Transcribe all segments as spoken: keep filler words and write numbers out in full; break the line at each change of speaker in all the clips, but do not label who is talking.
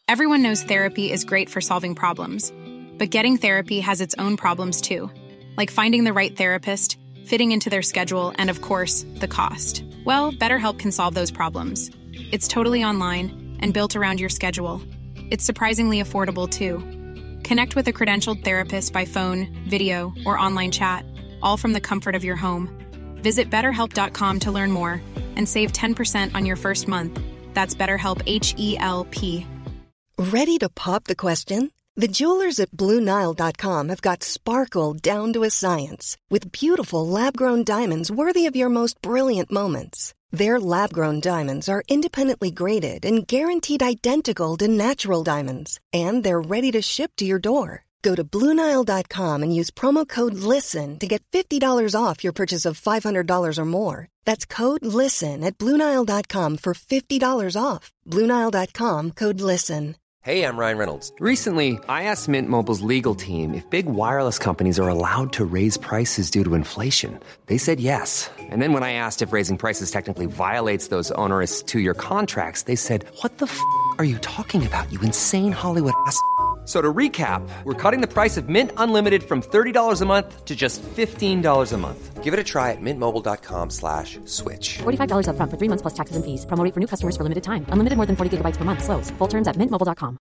Everyone knows therapy is great for solving problems, but getting therapy has its own problems too, like finding the right therapist, fitting into their schedule, and of course, the cost. Well, BetterHelp can solve those problems. It's totally online and built around your schedule. It's surprisingly affordable too. Connect with a credentialed therapist by phone, video, or online chat, all from the comfort of your home. Visit better help dot com to learn more and save ten percent on your first month. That's BetterHelp, H E L P.
Ready to pop the question? The jewelers at Blue Nile dot com have got sparkle down to a science with beautiful lab-grown diamonds worthy of your most brilliant moments. Their lab-grown diamonds are independently graded and guaranteed identical to natural diamonds, and they're ready to ship to your door. Go to Blue Nile dot com and use promo code LISTEN to get fifty dollars off your purchase of five hundred dollars or more. That's code LISTEN at Blue Nile dot com for fifty dollars off. Blue Nile dot com, code LISTEN.
Hey, I'm Ryan Reynolds. Recently, I asked Mint Mobile's legal team if big wireless companies are allowed to raise prices due to inflation. They said yes. And then when I asked if raising prices technically violates those onerous two-year contracts, they said, what the f*** are you talking about, you insane Hollywood ass f- So to recap, we're cutting the price of Mint Unlimited from thirty dollars a month to just fifteen dollars a month. Give it a try at mintmobile.com slash switch.
forty-five dollars up front for three months plus taxes and fees. Promo rate for new customers for limited time. Unlimited more than forty gigabytes per month. Slows full terms at mint mobile dot com.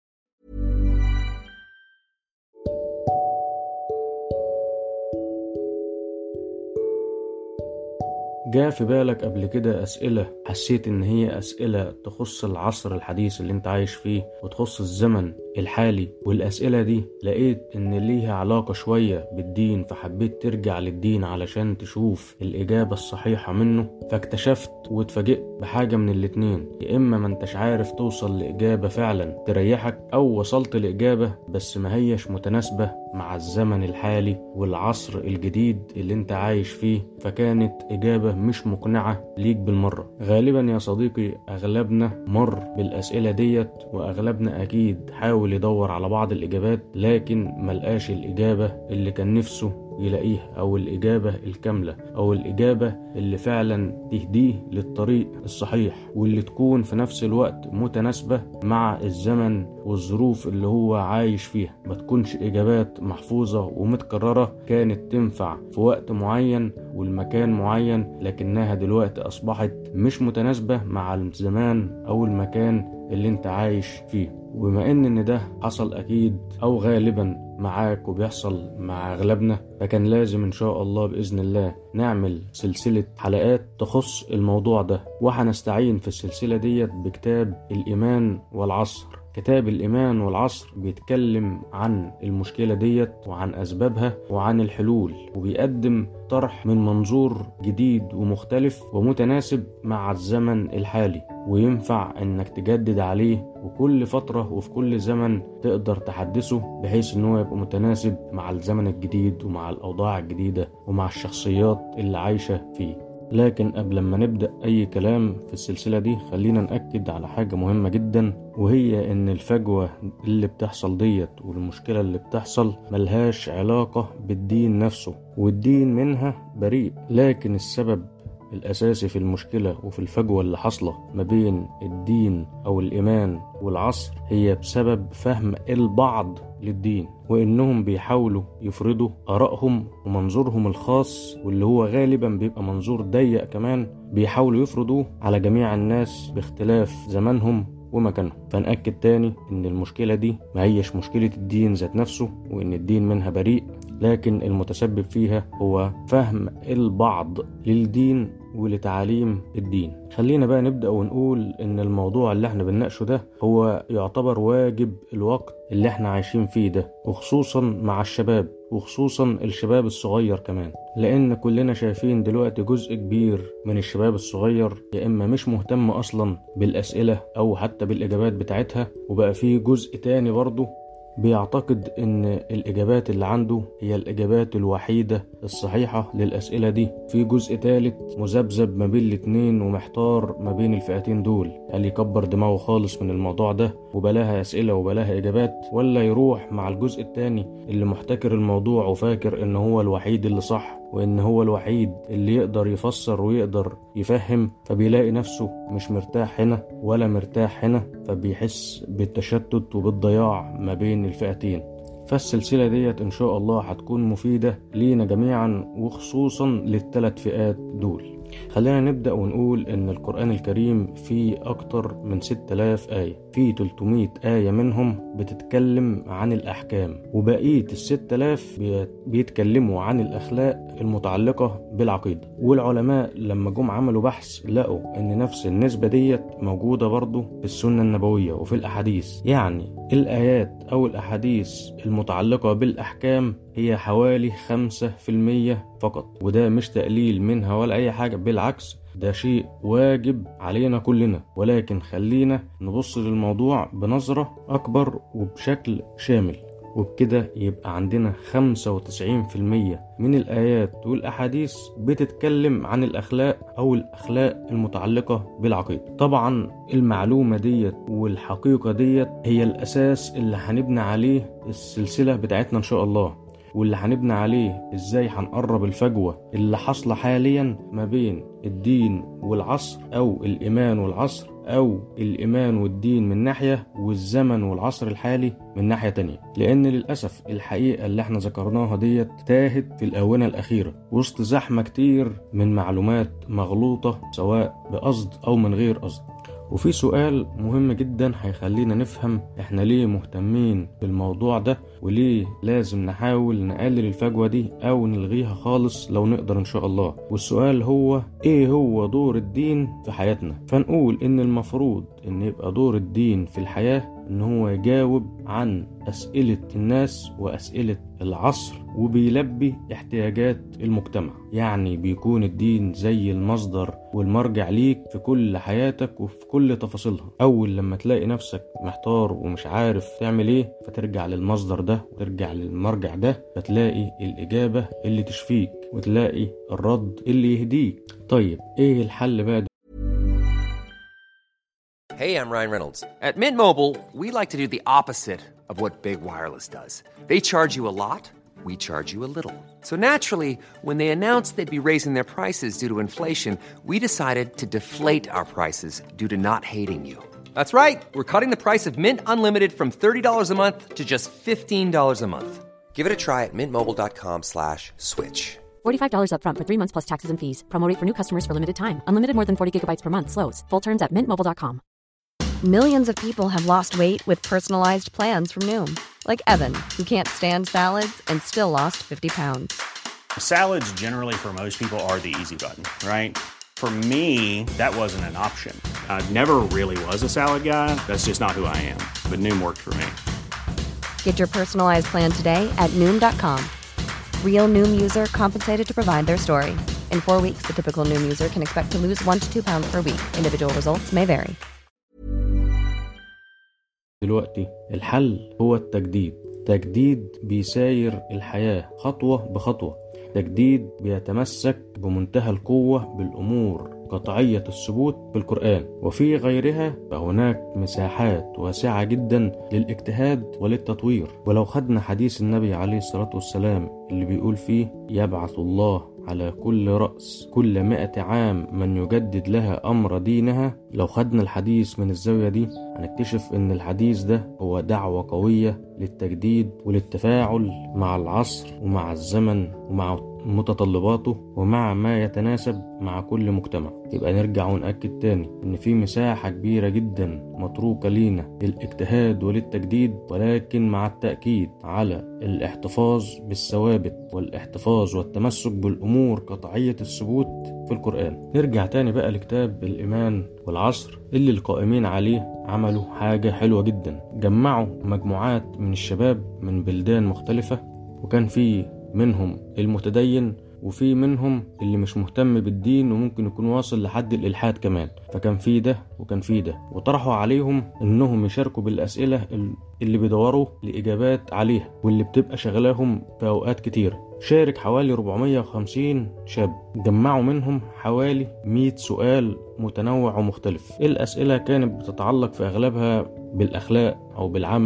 جاء في بالك قبل كده أسئلة حسيت إن هي أسئلة تخص العصر الحديث اللي انت عايش فيه وتخص الزمن الحالي، والأسئلة دي لقيت إن ليها علاقة شوية بالدين، فحبيت ترجع للدين علشان تشوف الإجابة الصحيحة منه؟ فاكتشفت واتفاجئت بحاجة من الاتنين، يا إما ما انتش عارف توصل لإجابة فعلا تريحك، أو وصلت لإجابة بس ما هيش متناسبة مع الزمن الحالي والعصر الجديد اللي انت عايش فيه، فكانت إجابة مش مقنعة ليك بالمرة. غالبا يا صديقي أغلبنا مر بالأسئلة ديت، وأغلبنا أكيد حاول يدور على بعض الإجابات لكن ملقاش الإجابة اللي كان نفسه يلاقيها، أو الإجابة الكاملة، أو الإجابة اللي فعلا تهديه للطريق الصحيح، واللي تكون في نفس الوقت متناسبة مع الزمن والظروف اللي هو عايش فيها. ما تكونش إجابات محفوظة ومتكررة كانت تنفع في وقت معين والمكان معين، لكنها دلوقتي أصبحت مش متناسبة مع الزمان أو المكان اللي انت عايش فيه. وبما ان ان ده حصل اكيد او غالبا معاك وبيحصل مع اغلبنا، فكان لازم ان شاء الله باذن الله نعمل سلسلة حلقات تخص الموضوع ده، وهنستعين في السلسلة ديت بكتاب الإيمان والعصر. كتاب الإيمان والعصر بيتكلم عن المشكلة ديت وعن أسبابها وعن الحلول، وبيقدم طرح من منظور جديد ومختلف ومتناسب مع الزمن الحالي، وينفع انك تجدد عليه وكل فترة وفي كل زمن تقدر تحدثه بحيث انه يبقى متناسب مع الزمن الجديد ومع الأوضاع الجديدة ومع الشخصيات اللي عايشة فيه. لكن قبل ما نبدأ أي كلام في السلسلة دي خلينا نأكد على حاجة مهمة جدا، وهي إن الفجوة اللي بتحصل ديت والمشكلة اللي بتحصل ملهاش علاقة بالدين نفسه، والدين منها بريء، لكن السبب الأساسي في المشكلة وفي الفجوة اللي حصلة ما بين الدين أو الإيمان والعصر هي بسبب فهم البعض للدين، وإنهم بيحاولوا يفرضوا آرائهم ومنظورهم الخاص، واللي هو غالبا بيبقى منظور ضيق كمان، بيحاولوا يفرضوه على جميع الناس باختلاف زمانهم ومكانهم. فنأكد تاني إن المشكلة دي ما هيش مشكلة الدين ذات نفسه وإن الدين منها بريء، لكن المتسبب فيها هو فهم البعض للدين ولتعاليم الدين. خلينا بقى نبدأ ونقول إن الموضوع اللي احنا بنناقشه ده هو يعتبر واجب الوقت اللي احنا عايشين فيه ده، وخصوصا مع الشباب، وخصوصا الشباب الصغير كمان، لأن كلنا شايفين دلوقتي جزء كبير من الشباب الصغير يا إما مش مهتم أصلا بالأسئلة أو حتى بالإجابات بتاعتها، وبقى فيه جزء تاني برضه بيعتقد ان الاجابات اللي عنده هي الاجابات الوحيدة الصحيحة للاسئلة دي. في جزء ثالث مذبذب ما بين الاتنين ومحتار ما بين الفئتين دول، هل يكبر دماغه خالص من الموضوع ده وبلاها اسئلة وبلاها اجابات، ولا يروح مع الجزء الثاني اللي محتكر الموضوع وفاكر ان هو الوحيد اللي صح وإن هو الوحيد اللي يقدر يفسر ويقدر يفهم، فبيلاقي نفسه مش مرتاح هنا ولا مرتاح هنا، فبيحس بالتشتت وبالضياع ما بين الفئتين. فالسلسلة ديت إن شاء الله هتكون مفيدة لينا جميعا وخصوصا للثلاث فئات دول. خلينا نبدأ ونقول إن القرآن الكريم فيه أكتر من ستة آلاف آية، فيه ثلاثمائة آية منهم بتتكلم عن الأحكام، وبقية الستة آلاف بيتكلموا عن الأخلاق المتعلقة بالعقيدة. والعلماء لما جم عملوا بحث لقوا إن نفس النسبة ديت موجودة برضو في السنة النبوية وفي الأحاديث. يعني الآيات أو الأحاديث المتعلقة بالأحكام هي حوالي خمسة في المية فقط، وده مش تقليل منها ولا أي حاجة، بالعكس ده شيء واجب علينا كلنا. ولكن خلينا نبص للموضوع بنظرة أكبر وبشكل شامل، وبكده يبقى عندنا خمسة وتسعين في المية من الآيات والأحاديث بتتكلم عن الأخلاق أو الأخلاق المتعلقة بالعقيدة. طبعا المعلومة ديت والحقيقة ديت هي الأساس اللي هنبني عليه السلسلة بتاعتنا إن شاء الله، واللي هنبني عليه إزاي هنقرب الفجوة اللي حصل حاليا ما بين الدين والعصر، أو الإيمان والعصر، أو الإيمان والدين من ناحية والزمن والعصر الحالي من ناحية تانية. لأن للأسف الحقيقة اللي احنا ذكرناها ديت تاهت في الآونة الأخيرة وسط زحمة كتير من معلومات مغلوطة سواء بقصد أو من غير قصد. وفي سؤال مهم جدا هيخلينا نفهم احنا ليه مهتمين بالموضوع ده، وليه لازم نحاول نقلل الفجوة دي او نلغيها خالص لو نقدر ان شاء الله. والسؤال هو ايه هو دور الدين في حياتنا؟ فنقول ان المفروض ان يبقى دور الدين في الحياة ان هو يجاوب عن اسئلة الناس واسئلة العصر، وبيلبي احتياجات المجتمع. يعني بيكون الدين زي المصدر والمرجع ليك في كل حياتك وفي كل تفاصيلها. اول لما تلاقي نفسك محتار ومش عارف تعمل ايه، فترجع للمصدر ده وترجع للمرجع ده، فتلاقي الاجابة اللي تشفيك وتلاقي الرد اللي يهديك. طيب ايه الحل بقى؟
Hey, I'm Ryan Reynolds. At Mint Mobile, we like to do the opposite of what Big Wireless does. They charge you a lot, we charge you a little. So naturally, when they announced they'd be raising their prices due to inflation, we decided to deflate our prices due to not hating you. That's right. We're cutting the price of Mint Unlimited from thirty dollars a month to just fifteen dollars a month. Give it a try at mintmobile.com slash switch.
forty-five dollars up front for three months plus taxes and fees. Promo rate for new customers for limited time. Unlimited more than forty gigabytes per month. Slows full terms at mint mobile dot com.
Millions of people have lost weight with personalized plans from Noom. Like Evan, who can't stand salads and still lost fifty pounds.
Salads generally for most people are the easy button, right? For me, that wasn't an option. I never really was a salad guy. That's just not who I am. But Noom worked for me.
Get your personalized plan today at Noom dot com. Real Noom user compensated to provide their story. In four weeks, the typical Noom user can expect to lose one to two pounds per week. Individual results may vary.
دلوقتي الحل هو التجديد. تجديد بيساير الحياة خطوة بخطوة، تجديد بيتمسك بمنتهى القوة بالأمور قطعية الثبوت في القرآن وفي غيرها. فهناك مساحات واسعة جدا للاجتهاد وللتطوير. ولو خدنا حديث النبي عليه الصلاة والسلام اللي بيقول فيه يبعث الله على كل رأس كل مئة عام من يجدد لها أمر دينها، لو خدنا الحديث من الزاوية دي هنكتشف ان الحديث ده هو دعوة قوية للتجديد وللتفاعل مع العصر ومع الزمن ومع متطلباته ومع ما يتناسب مع كل مجتمع. يبقى نرجع ونأكد تاني ان في مساحة كبيرة جدا متروكة لينا للاجتهاد وللتجديد، ولكن مع التأكيد على الاحتفاظ بالثوابت والاحتفاظ والتمسك بالأمور قطعية الثبوت في القرآن. نرجع تاني بقى لكتاب الإيمان والعصر اللي القائمين عليه عملوا حاجة حلوة جدا. جمعوا مجموعات من الشباب من بلدان مختلفة، وكان في منهم المتدين وفي منهم اللي مش مهتم بالدين وممكن يكون واصل لحد الإلحاد كمان. فكان في ده وكان في ده، وطرحوا عليهم انهم يشاركوا بالأسئلة اللي بيدوروا لإجابات عليها واللي بتبقى شغلاهم في أوقات كتير. شارك حوالي أربعمائة وخمسين شاب، جمعوا منهم حوالي مئة سؤال متنوع ومختلف. الأسئلة كانت بتتعلق في أغلبها بالأخلاق أو بالعمل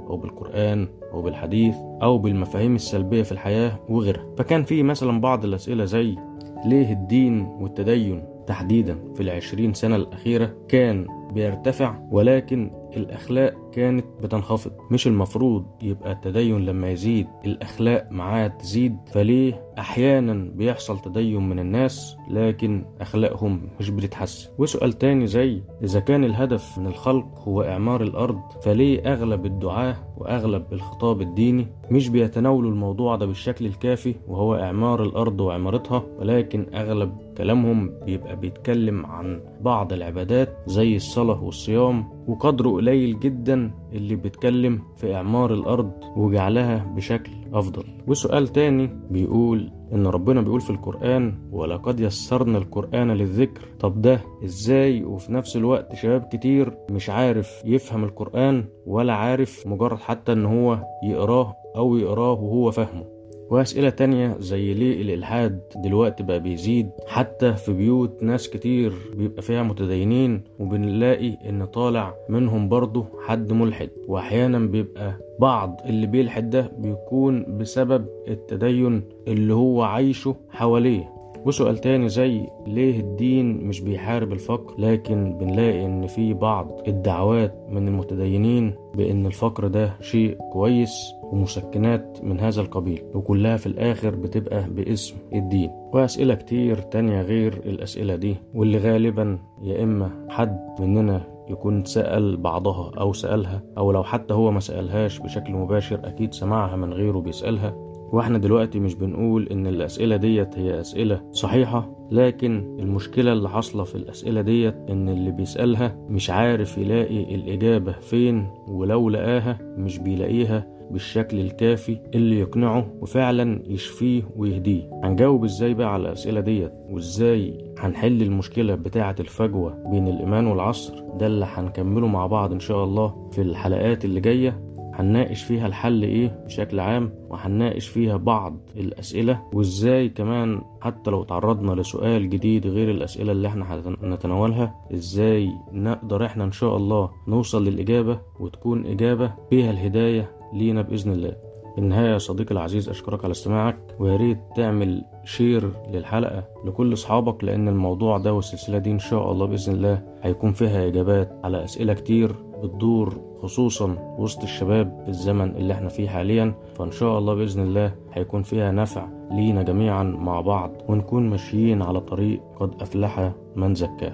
أو بالقرآن أو بالحديث أو بالمفاهيم السلبية في الحياة وغيرها. فكان في مثلا بعض الأسئلة زي ليه الدين والتدين تحديدا في العشرين سنة الأخيرة كان بيرتفع ولكن الأخلاق كانت بتنخفض؟ مش المفروض يبقى التدين لما يزيد الأخلاق معاه تزيد؟ فليه أحيانا بيحصل تدين من الناس لكن أخلاقهم مش بتتحسن؟ وسؤال تاني زي إذا كان الهدف من الخلق هو إعمار الأرض، فليه أغلب الدعاة وأغلب الخطاب الديني مش بيتناولوا الموضوع ده بالشكل الكافي وهو إعمار الأرض وعمارتها، ولكن أغلب كلامهم بيبقى بيتكلم عن بعض العبادات زي الصلاة والصيام، وقدره قليل جدا اللي بيتكلم في إعمار الأرض وجعلها بشكل أفضل. وسؤال تاني بيقول إن ربنا بيقول في القرآن ولقد يسرنا القرآن للذكر. طب ده إزاي وفي نفس الوقت شباب كتير مش عارف يفهم القرآن ولا عارف مجرد حتى إن هو يقراه أو يقراه وهو فهمه؟ وأسئلة تانية زي ليه الإلحاد دلوقتي بقى بيزيد حتى في بيوت ناس كتير بيبقى فيها متدينين، وبنلاقي إن طالع منهم برضو حد ملحد، وأحيانا بيبقى بعض اللي بيلحد ده بيكون بسبب التدين اللي هو عايشه حواليه. وسؤال تاني زي ليه الدين مش بيحارب الفقر، لكن بنلاقي ان في بعض الدعوات من المتدينين بان الفقر ده شيء كويس ومسكنات من هذا القبيل، وكلها في الاخر بتبقى باسم الدين. واسئلة كتير تانية غير الاسئلة دي، واللي غالبا يا اما حد مننا يكون سأل بعضها او سألها، او لو حتى هو ما سألهاش بشكل مباشر اكيد سمعها من غيره بيسألها. واحنا دلوقتي مش بنقول ان الاسئلة ديت هي اسئلة صحيحة، لكن المشكلة اللي حصلة في الاسئلة ديت ان اللي بيسألها مش عارف يلاقي الاجابة فين، ولو لقاها مش بيلاقيها بالشكل الكافي اللي يقنعه وفعلا يشفيه ويهديه. هنجاوب ازاي بقى على الاسئلة ديت، وازاي هنحل المشكلة بتاعة الفجوة بين الايمان والعصر؟ ده اللي هنكمله مع بعض ان شاء الله في الحلقات اللي جاية. هنناقش فيها الحل ايه بشكل عام، وهنناقش فيها بعض الاسئلة، وازاي كمان حتى لو تعرضنا لسؤال جديد غير الاسئلة اللي احنا هنتناولها ازاي نقدر احنا ان شاء الله نوصل للاجابة وتكون اجابة فيها الهداية لينا باذن الله. في النهاية يا صديقي العزيز اشكرك على استماعك، وياريت تعمل شير للحلقة لكل اصحابك، لان الموضوع ده والسلسلة دي ان شاء الله باذن الله هيكون فيها اجابات على اسئلة كتير بتدور خصوصا وسط الشباب في الزمن اللي احنا فيه حاليا. فان شاء الله باذن الله هيكون فيها نفع لينا جميعا مع بعض، ونكون ماشيين على طريق قد افلح من زكاه.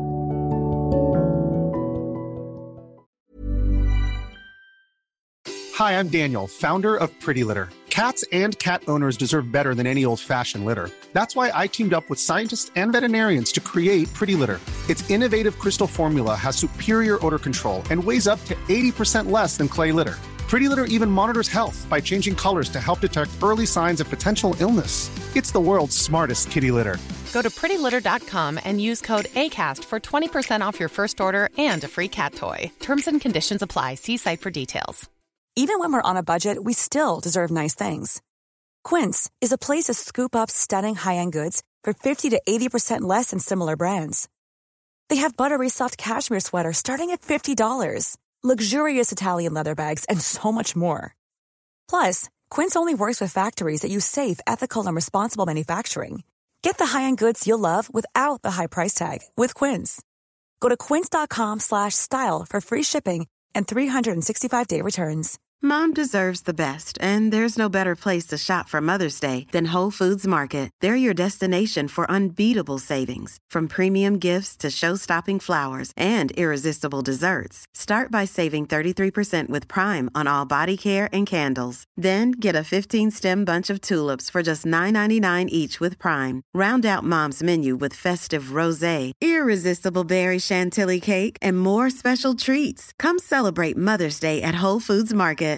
Hi, I'm Daniel, founder of Pretty Litter. Cats and cat owners deserve better than any old-fashioned litter. That's why I teamed up with scientists and veterinarians to create Pretty Litter. Its innovative crystal formula has superior odor control and weighs up to eighty percent less than clay litter. Pretty Litter even monitors health by changing colors to help detect early signs of potential illness. It's the world's smartest kitty litter.
Go to pretty litter dot com and use code ACAST for twenty percent off your first order and a free cat toy. Terms and conditions apply. See site for details.
Even when we're on a budget, we still deserve nice things. Quince is a place to scoop up stunning high-end goods for fifty to eighty percent less than similar brands. They have buttery soft cashmere sweaters starting at fifty dollars, luxurious Italian leather bags, and so much more. Plus, Quince only works with factories that use safe, ethical, and responsible manufacturing. Get the high-end goods you'll love without the high price tag with Quince. Go to quince dot com slash style for free shipping and three hundred sixty-five day returns.
Mom deserves the best, and there's no better place to shop for Mother's Day than Whole Foods Market. They're your destination for unbeatable savings, from premium gifts to show-stopping flowers and irresistible desserts. Start by saving thirty-three percent with Prime on all body care and candles. Then get a fifteen-stem bunch of tulips for just nine ninety-nine each with Prime. Round out Mom's menu with festive rosé, irresistible berry chantilly cake, and more special treats. Come celebrate Mother's Day at Whole Foods Market.